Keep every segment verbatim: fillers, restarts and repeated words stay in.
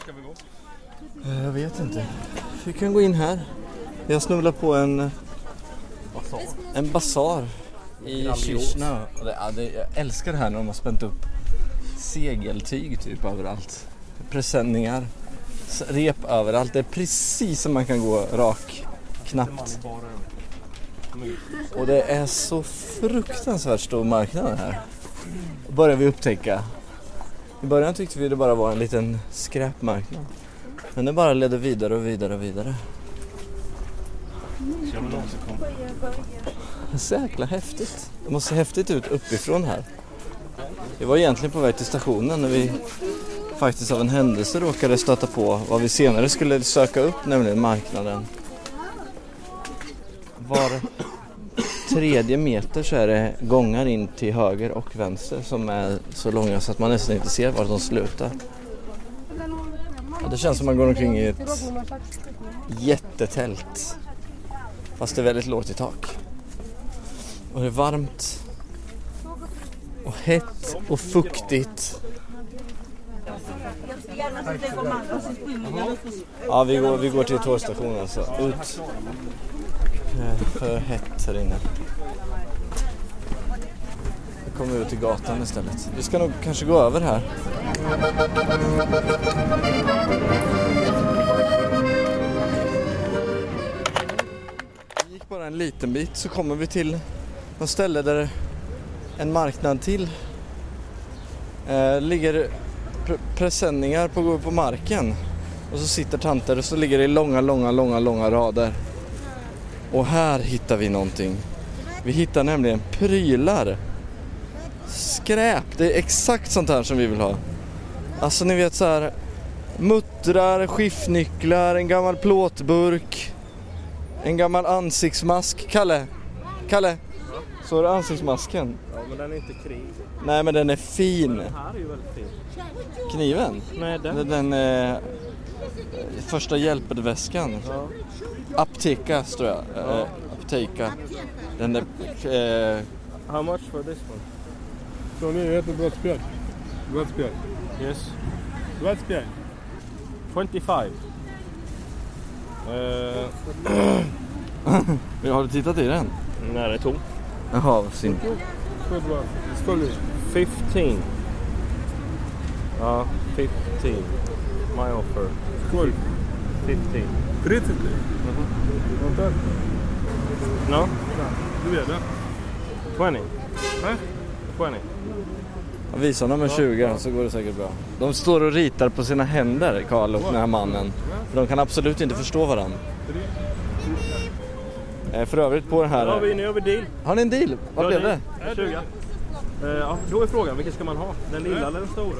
ska vi gå? Jag vet inte. Vi kan gå in här. Jag snubblar på en Basar. en basar i Kishna. Ja, det, jag älskar det här när de har spänt upp segeltyg typ överallt. Presenningar, rep överallt. Det är precis som man kan gå rak, knappt. Och det är så fruktansvärt stor marknad här. Börjar vi upptäcka. I början tyckte vi det bara var en liten skräpmarknad. Men det bara ledde vidare och vidare och vidare. Det är så jäkla häftigt. Det måste se häftigt ut uppifrån här. Vi var egentligen på väg till stationen när vi faktiskt av en händelse råkade stöta på vad vi senare skulle söka upp, nämligen marknaden. Var tredje meter så är det gångar in till höger och vänster som är så långa så att man nästan inte ser var de slutar. Ja, det känns som man går omkring i ett jättetält. Fast det är väldigt lågt i tak. Och det är varmt. Och hett och fuktigt. Ja, vi går, vi går till tågstationen alltså. Ut. För hett här inne. Vi kommer ut till gatan istället. Vi ska nog kanske gå över här. Vi gick bara en liten bit så kommer vi till något ställe där en marknad till eh, ligger pre- presenningar på, på marken. Och så sitter tanter och så ligger det i långa, långa, långa, långa rader. Och här hittar vi någonting. Vi hittar nämligen prylar. Skräp. Det är exakt sånt här som vi vill ha. Alltså ni vet så här. Muttrar, skiftnycklar, en gammal plåtburk. En gammal ansiktsmask. Kalle. Kalle. Så är det ansiktsmasken. Ja, men den är inte krig. Nej, men den är fin. Den här är ju väldigt fin. Kniven? Nej, den. Den, den eh, första hjälpväskan. Ja. Apteka, tror jag. Ja. Eh, apteka. Den är... Eh, How much for this one? Så nu heter det Brottspjärn. Brottspjärn. Yes. Brottspjärn. twenty-five. Uh, har du tittat i den? nej, det är tom. Jaha, vad synd. Följ. fifteen. Ja, fifteen. My offer. Skål. fifteen. trettio. Vänta. No? Du vet det. twenty. Nej. twenty. Jag visar dem med tjugo så går det säkert bra. De står och ritar på sina händer, Karl och den här mannen. För de kan absolut inte förstå varandra. För övrigt på den här... Ja, vi, nu har vi deal. Har ni en deal? Vad Ja, blev det? tjugo. Uh, ja, då är frågan, vilken ska man ha? Den lilla eller den stora?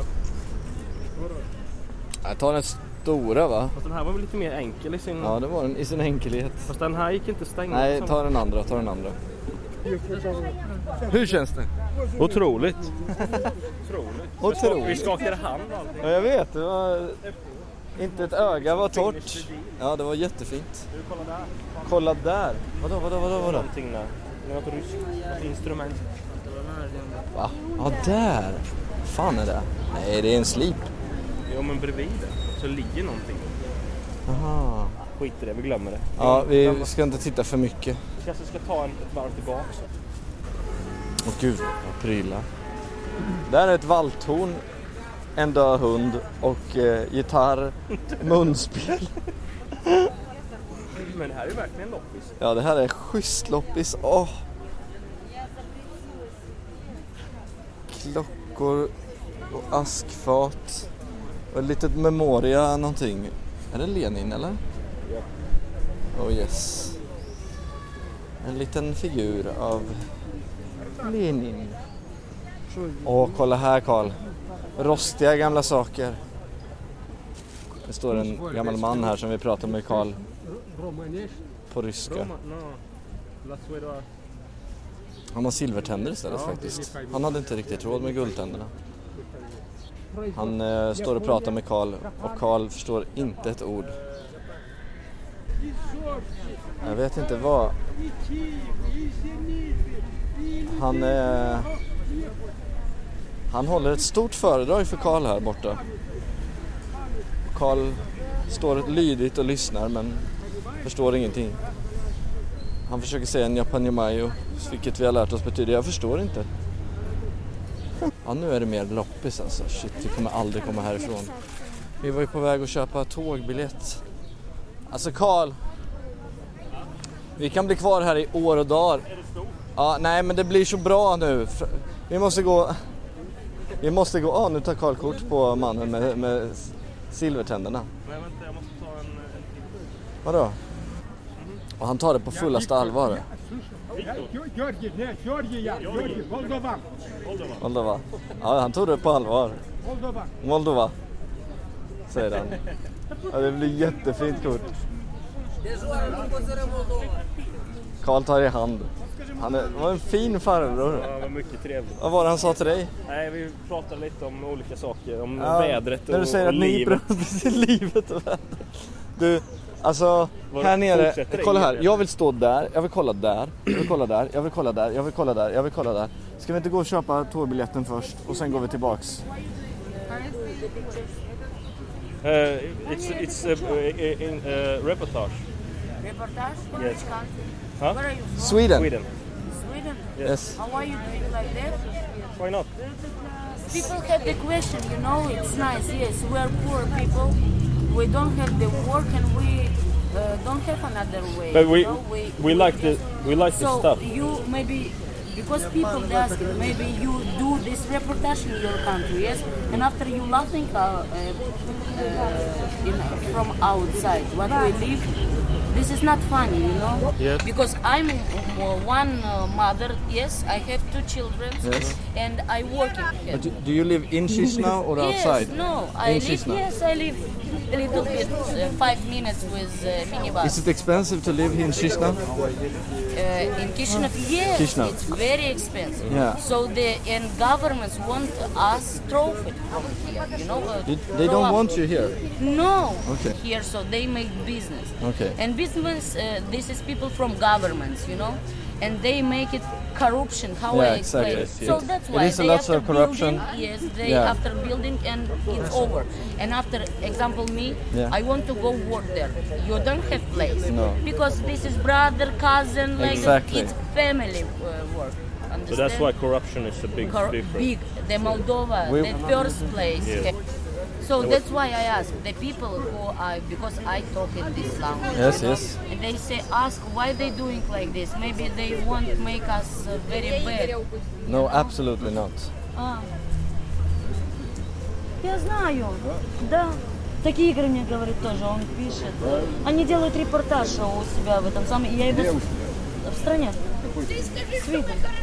Jag tar den stora, va? Fast den här var väl lite mer enkel i sin... Ja, det var den i sin enkelhet. Fast den här gick inte stänga. Nej, ta den andra, ta den andra. Hur känns det? Otroligt. Otroligt. Otroligt. Vi skakade hand allting. Ja, jag vet. Det var... Inte ett öga var torrt. Ja, det var jättefint. Du, kolla där. Kolla där. Vadå, vadå, vadå, vadå? Någonting där. Det är något ryskt. Ett instrument. Va? Ja, där. Vad fan är det? Nej, det är en slip. Jo, men bredvid det så ligger någonting. Aha. Skit i det, vi glömmer det. Ja, vi ska inte titta för mycket. Vi kanske ska ta en, ett varv tillbaka. Åh gud, vad prylar. Där är ett valthorn, en död hund och eh, gitarr, munspel. Men det här är verkligen loppis. Ja, det här är schysst loppis. Åh. Klockor och askfat. Och ett litet memoria någonting. Är det Lenin eller? Ja. Oh yes. En liten figur av Lenin. Åh, kolla här Karl. Rostiga gamla saker. Det står en gammal man här som vi pratar med Karl på ryska. Han har silvertänder istället faktiskt. Han hade inte riktigt råd med guldtänderna. Han eh, står och pratar med Karl och Karl förstår inte ett ord. Jag vet inte vad. Han eh, han håller ett stort föredrag för Karl här borta. Carl står lydigt och lyssnar men förstår ingenting. Han försöker säga Nyapanjamayo, vilket vi har lärt oss betyder jag förstår inte. Ja, nu är det mer loppis alltså. Shit, vi kommer aldrig komma härifrån. Vi var ju på väg att köpa tågbiljett. Alltså Carl, vi kan bli kvar här i år och dagar. Ja, nej men det blir så bra nu. Vi måste gå... Vi måste gå... Ja, ah, nu tar Carl kort på mannen med, med silvertänderna. Nej, vänta, jag måste ta en... en... Vadå? Mm. Och han tar det på fullaste allvar. Moldova. Ja, han tog det på allvar. Moldova. Säger han. Ja, det blir jättefint kort. Carl tar i hand. Han är, var en fin farbror. Ja, var mycket trevligt. Vad var det han sa till dig? Nej, vi pratade lite om olika saker. Om ja, vädret och, när du säger och att livet. Ni livet och vädret. Du, alltså var här nere, kolla här. Det? Jag vill stå där, jag vill kolla där, jag vill kolla där, jag vill kolla där, jag vill kolla där, jag vill kolla där. Ska vi inte gå och köpa tågbiljetten först och sen går vi tillbaks? Uh, it's it's a, a, in a reportage. Reportage? From Yes. which country? Huh? Where are you from? Sweden. Sweden. Sweden? Yes. How are you doing like that? Why not? People have the question, you know, it's nice, yes, we are poor people, we don't have the work and we uh, don't have another way. But we you know? we, we like the we like the so stuff. you maybe, because people they ask, maybe you do this reportage in your country, yes, and after you laughing uh, uh, uh, in, from outside, what we live, this is not funny, you know. Yes. Because I'm uh, one uh, mother, yes, I have two children, Yes. and I work in here. But do, do you live in Chisinau or outside? Yes, no, I In live, Chisinau. yes, I live a little bit, uh, five minutes with uh, minibus. Is it expensive to live here in Chisinau? Uh, in Kishinev, yes, Chisinau. it's very expensive. Yeah. So the and governments want us throw it from here, you know. Uh, They, they throw don't up. want you here. No, Okay. here, so they make business. Okay. And business, uh, this is people from governments, you know, and they make it corruption. How Yeah, I explain exactly. it. So It- that's it why is a they lot after of corruption. building, yes, they Yeah. after building and it's over. And after example me, Yeah. I want to go work there. You don't have place No. because this is brother, cousin, like Exactly. it's family uh, work. So that's Understand? why corruption is a big Cor- difference. big, the Moldova, We- the first place. Yes. So that's why I ask the people who I, because I talk in this language. Yes, you know, yes. And they say, ask why they doing like this. Maybe they won't make us uh, very bad. No, absolutely not. А. Я знаю, да. Такие игры мне говорит тоже, он пишет. Они делают репортаж у себя в этом самом... Я его... В стране. Свиден.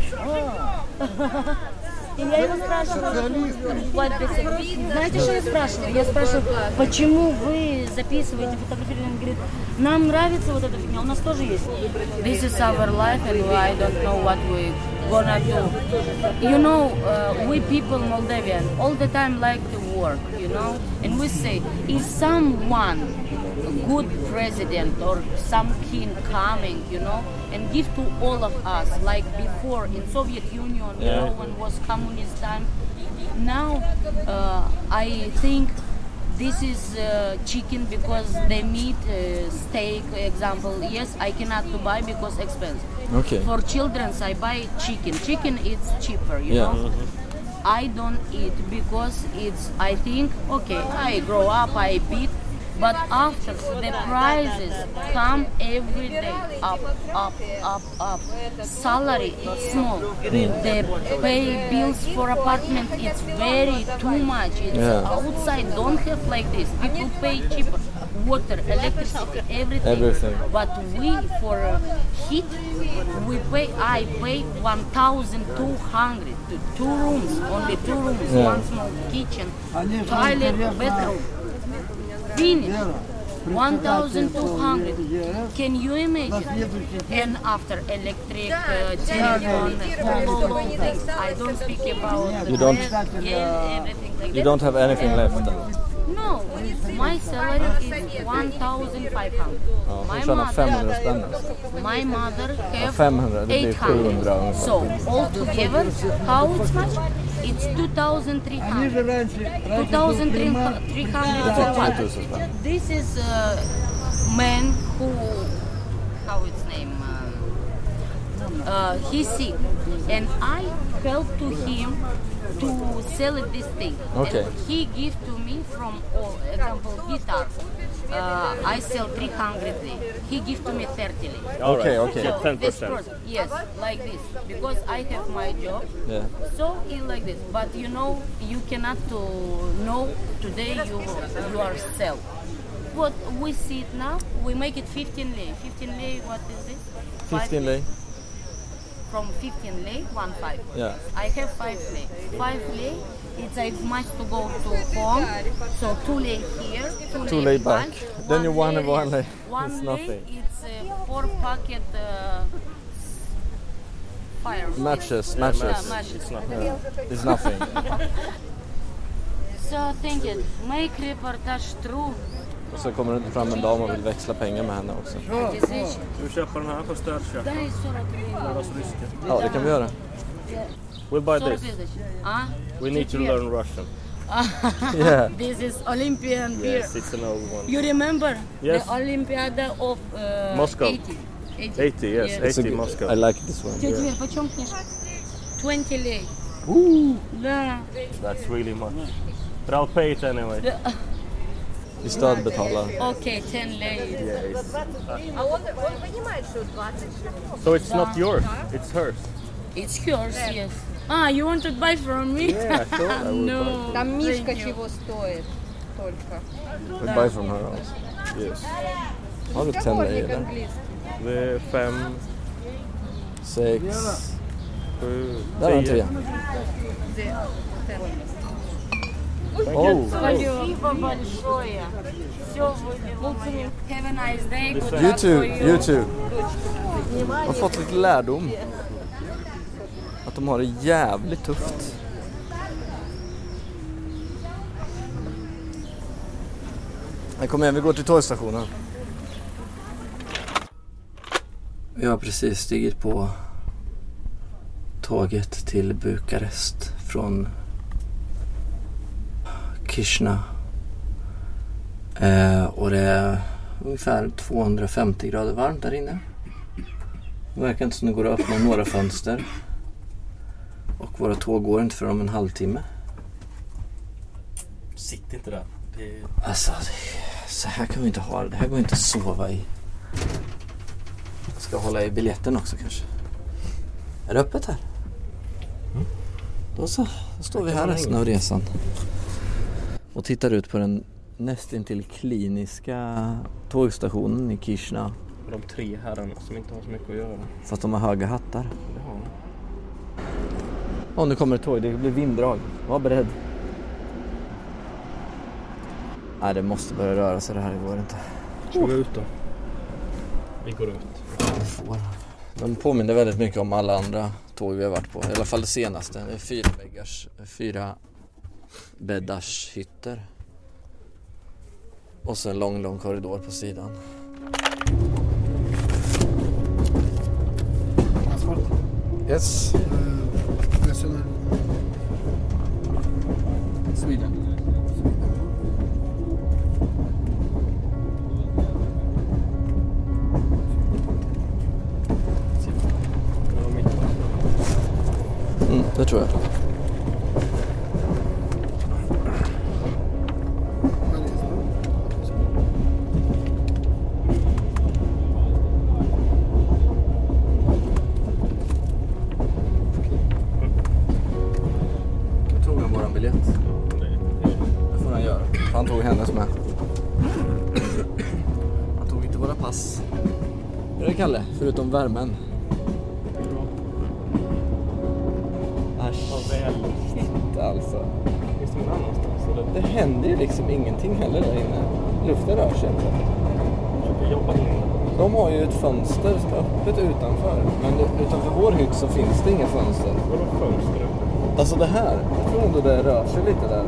И я его спрашиваю, what they say. Знаете, что я спрашиваю? Я спрашиваю, почему вы записываете, фотографируете? Он говорит, нам нравится вот эта фигня, у нас тоже есть. This is our life and I don't know what we gonna do. You know, uh, we people Moldavian all the time like to work, you know, and we say, if someone good president or some king coming, you know, and give to all of us, like before in Soviet Union, you Yeah. know, when was communist time. Now, uh, I think this is uh, chicken because the meat, uh, steak, example. Yes, I cannot to buy because expensive. Okay. For childrens, I buy chicken. Chicken it's cheaper, you Yeah. know. I don't eat because it's. I think okay. I grow up, I beat. But after the prices come every day up, up, up, up. Salary is small. The pay bills for apartment it's very too much. It's Yeah. outside don't have like this. People pay cheaper. Water, electricity, everything. Everything. But we for uh, heat, we pay. I pay one thousand two hundred. Two rooms, only two rooms. Yeah. One small kitchen, toilet, bedroom. Finish. one thousand two hundred. Can you imagine? And after electric, uh, telephone, all those things. I don't speak about You don't- rent, yeah, everything like You that. don't have anything And- left then? No, my salary is one thousand five hundred. Ja, hon My tjänar femhundra mother, spänn. my mother have femhundra, det blir eight hundred. sjuhundra ungefär. So altogether, how it's much? It's two thousand three hundred. two thousand three hundred for one. This is a man who, how its name? Uh, uh, he's sick, and I help to him to sell it this thing. Okay. And he give to me from, all example, guitar. Uh, I sell three hundred lei. He give to me thirty lei. Okay, okay. So ten This percent. product, yes, like this, because I have my job. Yeah. So it's like this, but you know, you cannot to know today you you are sell. What we see it now, we make it fifteen lei. fifteen lei, what is this? Five fifteen lei. From fifteen lei, one five. Yeah. I have five lei. Five lei, it's I must to go to home. So two lei here, two, Two lei lei back. Then you one one one lei. One It's lei, nothing. it's uh, four packet uh, fire. Matches, Yeah, matches. matches. It's nothing. It's nothing. So think it, make reportage true. Och så kommer det fram en dam och vill växla pengar med henne också. Действительно. Du köper den här på stödköp. Дай сорок лей. Deras ryska. Ja, det kan vi göra. We'll buy сорок this. лей. А? We need to Четверг. learn Russian. Yeah. This is Olympian beer. Yes, it's an old one. You remember Yes. the Olympiada of uh, Moscow. eighty? eighty, yes, Yes. It's a eighty good- Moscow. I like this one. Тетя Вер, почем книжка? twenty лей. Да. That's really much. But I'll pay it anyway. Vi stödbetalar. Окей, ten лей. Yeah, it's, А он, он понимает, что двадцать. so it's not yours, it's hers. It's yours, yes. Ah, you want to buy from me? Yeah, I thought I would No. Там мишка thank you. чего стоит только. We buy from her also. Yes. Har du ten lei Сборник eller? английский. Det är fem, Sex. sju, Där har en trea. Oh. Спасибо большое. Все выливаем. Have a nice day. Good You luck too, for you. you too. Jag har fått lite lärdom. Att de har det jävligt tufft. Nej, kom igen, vi går till tågstationen. Vi har precis stigit på tåget till Bukarest från Kishna. Eh, och det är ungefär tvåhundrafemtio grader varmt där inne. Det verkar inte som det går att öppna några fönster. Och våra tåg går inte för om en halvtimme. sitt inte där. Det är... Alltså, det, så här kan vi inte ha det. Det här går inte att sova i. Jag ska hålla i biljetten också kanske. Är det öppet här? Mm. Då så, då står vi här resten av resan. Och tittar ut på den nästintill kliniska tågstationen i Kishna. De tre herrarna som inte har så mycket att göra. Fast de har höga hattar. Det har de. Åh, nu kommer ett tåg. Det blir vinddrag. Var beredd. Nej, det måste börja röra sig. Det här går inte. Ska vi ut då? Vi går ut. Vi får. De påminner väldigt mycket om alla andra tåg vi har varit på. I alla fall det senaste. Det är fyra bäggars, fyra bäddars hytter. Och så en lång, lång korridor på sidan. Yes. Sweden. Mm, det tror jag. Jag tog han våran biljett. Det får han göra. Han tog hennes med. Han tog inte våra pass. Hur är det, Kalle? Förutom värmen. Shit, alltså. Finns det någon annanstans? Eller? Det händer ju liksom ingenting heller där inne. Luften rör sig inte. Försöker jobba in. De har ju ett fönster som är öppet utanför. Men utanför vår hytt så finns det inga fönster. Vadå fönster öppet? Alltså det här, jag tror ändå det rör sig lite där.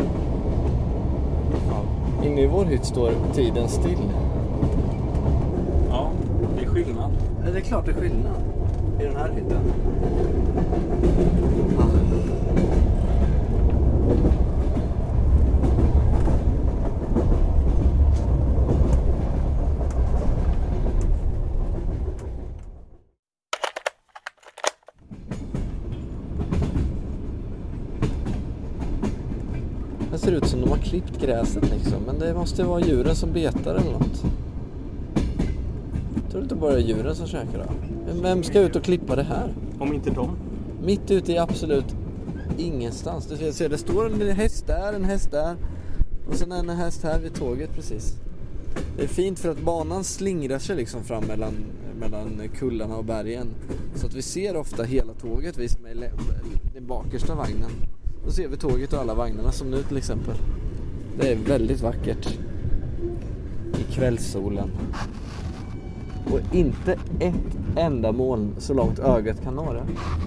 Inne i vår hytt står tiden still. Ja, det är skillnad. Ja, det är klart det är skillnad i den här hytten. Det ser ut som de har klippt gräset liksom. Men det måste vara djuren som betar eller något. Jag tror inte bara djuren som käkar det. Men vem ska ut och klippa det här? Om inte de. Mitt ute i absolut ingenstans. Du ser, det står en häst där, en häst där. Och sen en häst här vid tåget precis. Det är fint för att banan slingrar sig liksom fram mellan, mellan kullarna och bergen. Så att vi ser ofta hela tåget, vi som är i den bakersta vagnen. Då ser vi tåget och alla vagnarna som nu till exempel. Det är väldigt vackert. I kvällssolen. Och inte ett enda moln så långt ögat kan nå det.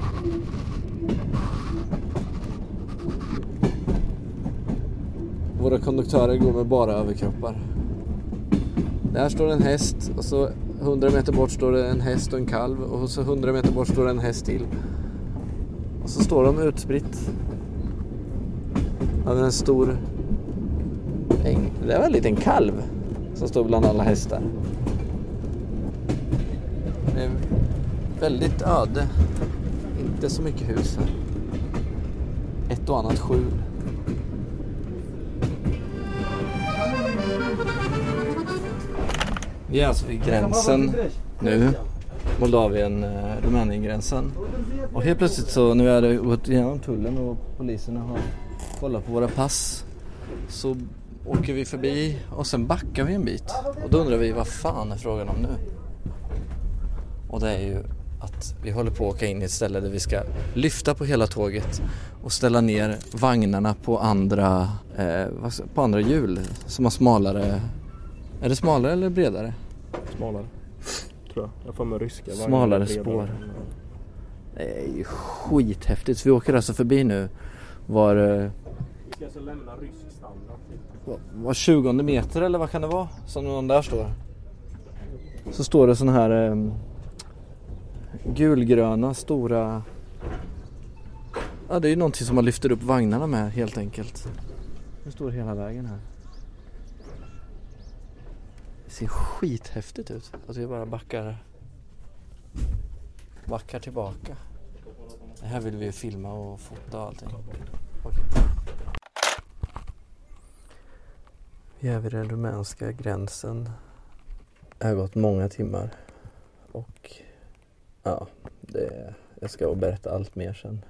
Våra konduktörer går med bara överkroppar. Där står en häst och så hundra meter bort står det en häst och en kalv. Och så hundra meter bort står det en häst till. Och så står de utspritt. Över en stor äng. Det är väl en liten kalv som står bland alla hästar. Det är väldigt öde. Inte så mycket hus här. Ett och annat skjul. Vi är alltså vid gränsen nu. Moldavien-Rumänien-gränsen. Och helt plötsligt så när vi hade gått igenom tullen och poliserna har kollat på våra pass så åker vi förbi och sen backar vi en bit. Och då undrar vi vad fan är frågan om nu? Och det är ju att vi håller på att åka in i ett ställe där vi ska lyfta på hela tåget och ställa ner vagnarna på andra, eh, på andra hjul som har smalare. Är det smalare eller bredare? Smalare, tror jag. Jag får med ryska. Smalare spår. Det är ju skithäftigt. Så vi åker alltså förbi nu var... Vi ska alltså lämna rysk standard. Var tjugonde meter eller vad kan det vara? Som någon där står. Så står det sån här eh, gulgröna stora... Ja, det är ju någonting som man lyfter upp vagnarna med helt enkelt. Det står hela vägen här. Det ser skithäftigt ut. Att vi bara backar backar tillbaka. Det här vill vi filma och fota och allting. Okej. Vi är vid den rumänska gränsen. Det har gått många timmar. Och ja, det, jag ska berätta allt mer sen.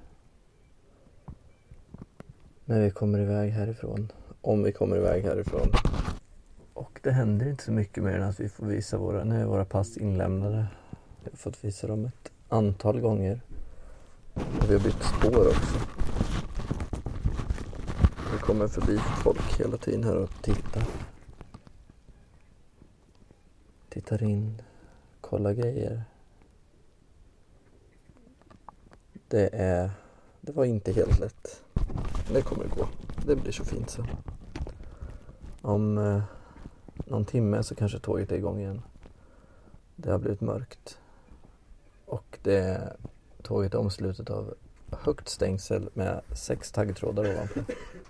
När vi kommer iväg härifrån. Om vi kommer iväg härifrån. Och det händer inte så mycket mer än att vi får visa våra, nu är våra pass inlämnade. Vi har fått visa dem ett antal gånger. Och vi har bytt spår också. Vi kommer förbi folk hela tiden här och tittar. Tittar in, kollar grejer. Det är, det var inte helt lätt. Det kommer gå. Det blir så fint så. Om... Eh, någon timme så kanske tåget är igång igen. Det har blivit mörkt. Och det tåget är omslutet av högt stängsel med sex taggtrådar ovanför.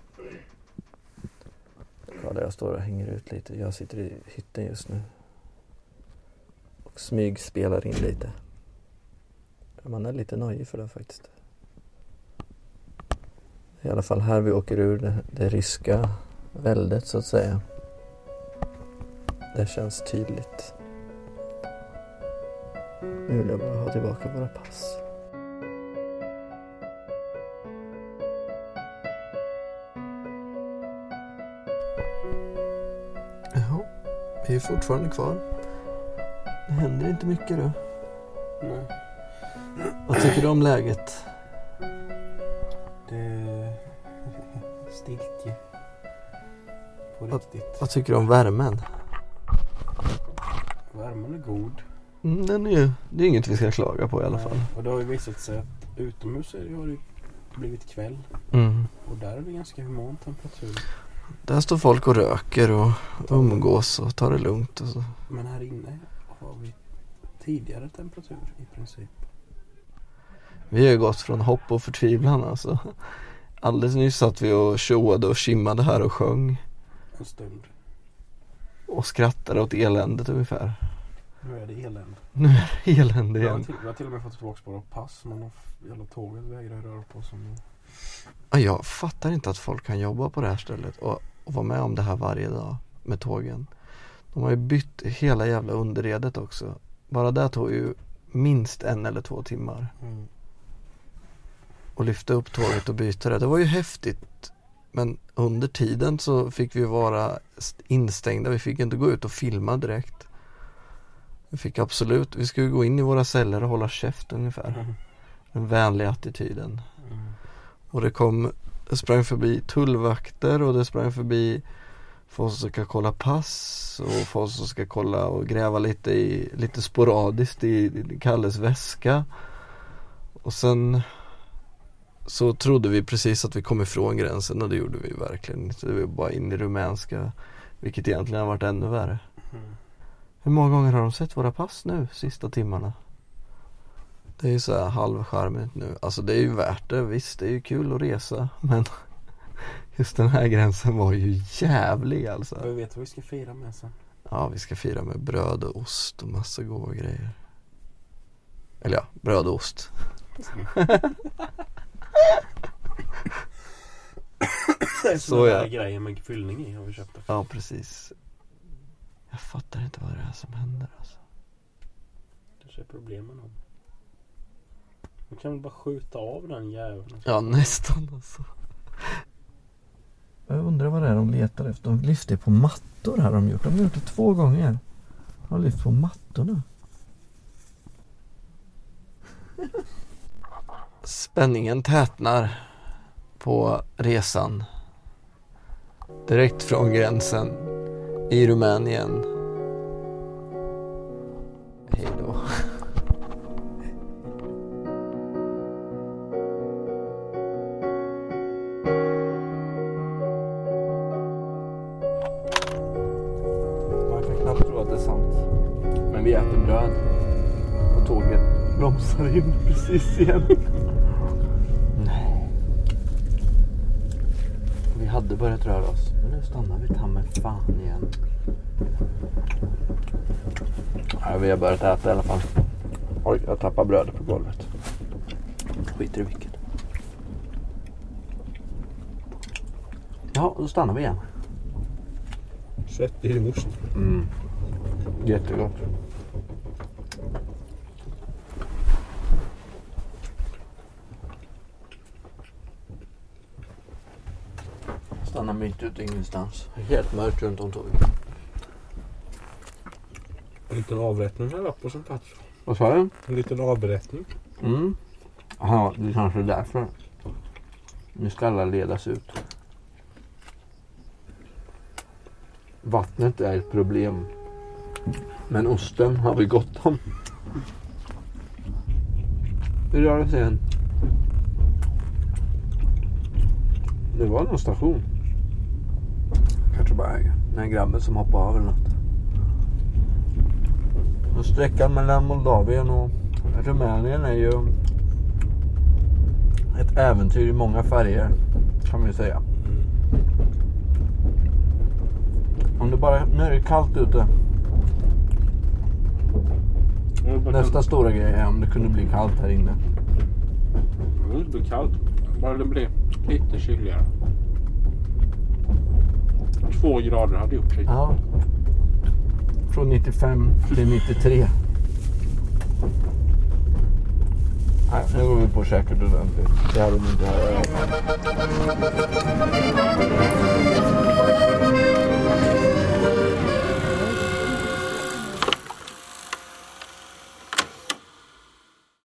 Ja, där jag står och hänger ut lite. Jag sitter i hytten just nu. Och smyg spelar in lite. Man är lite nöjd för det faktiskt. I alla fall här vi åker ur det, det ryska väldet så att säga. Det känns tydligt. Nu vill jag bara ha tillbaka våra pass. Jaha, vi är fortfarande kvar. Det händer inte mycket då. Nej. Vad tycker du om läget? Det är stiltje. På riktigt. Vad tycker du om värmen? Värmen är god. Mm, den är ju, det är inget vi ska klaga på i alla fall. Och det har ju visat sig att utomhus är det, har det blivit kväll. Mm. Och där är det ganska human temperatur. Där står folk och röker och umgås och tar det lugnt. Och så. Men här inne har vi tidigare temperatur i princip. Vi har ju gått från hopp och förtvivlan alltså. Alldeles nyss satt vi och tjoade och kimmade här och sjöng. En stund. Och skrattade åt eländet ungefär. Nu är det elände. Nu är det elände Jag har igen. till, jag har till och med fått tillbaka våra pass. Men de jävla tåget vägrar röra på sig. Ja, jag fattar inte att folk kan jobba på det här stället och, och vara med om det här varje dag med tågen. De har ju bytt hela jävla underredet också. Bara det tog ju minst en eller två timmar. Mm. Och lyfta upp tåget och byta det. Det var ju häftigt. Men under tiden så fick vi vara instängda. Vi fick inte gå ut och filma direkt. Vi fick absolut, vi skulle gå in i våra celler och hålla käft ungefär. Mm. Den vänliga attityden. Mm. Och det kom, det sprang förbi tullvakter och det sprang förbi folk som ska kolla pass och folk som ska kolla och gräva lite i, lite sporadiskt i Kalles väska. Och sen så trodde vi precis att vi kom ifrån gränsen och det gjorde vi verkligen inte. Det var bara in i rumänska, vilket egentligen har varit ännu värre. Mm. Hur många gånger har de sett våra pass nu, sista timmarna? Det är ju så här halvcharmigt nu. Alltså det är ju värt det, visst det är ju kul att resa. Men just den här gränsen var ju jävlig alltså. Vi vet vad vi ska fira med sen. Ja, vi ska fira med bröd och ost och massa goda grejer. Eller ja, bröd och ost. Det är Så så ja. grejer med fyllning i har vi köpt. Ja, precis. Jag fattar inte vad det är som händer alltså. Det är problemen om. Man kan väl bara skjuta av den jäveln. Ja, nästan alltså. Jag undrar vad det är de letar efter. De lyfter på mattor här de gjort. De har gjort det två gånger. De har lyft på mattorna. Spänningen tätnar på resan. Direkt från gränsen i Rumänien. Hej då. Man kan knappt tro att det är sant. Men vi äter bröd. Och tåget bromsar in precis igen. Nej. Vi hade börjat röra oss. Men nu stannar vi ta med fan igen. Ja, vi har börjat äta i alla fall. Oj, jag tappar brödet på golvet. Skiter i vilket. Ja, då stannar vi igen. Sött i din ost. Mm. Jättegott. Stannar mitt ute ingenstans. Helt mörkt runt om tåget. En liten avrättning här uppe som plats. Vad sa du? En liten avrättning. Mm. Ja, det är kanske därför. Nu ska alla ledas ut. Vattnet är ett problem. Men osten har vi gott om. Hur rör det sig än? Det var någon station. Kanske bara en grabben som hoppade av eller något. Och sträckan mellan Moldavien och Rumänien är ju ett äventyr i många färger, kan vi säga. Om det bara, nu är det kallt ute. Nästa stora grej är om det kunde bli kallt här inne. Mm, det blir kallt. Bara det blir lite kyligare. Två grader hade gjort sig. Ja. Från nittiofem till nittiotre. Nej, nu går vi på säkert ordentligt. Det hade vi inte här.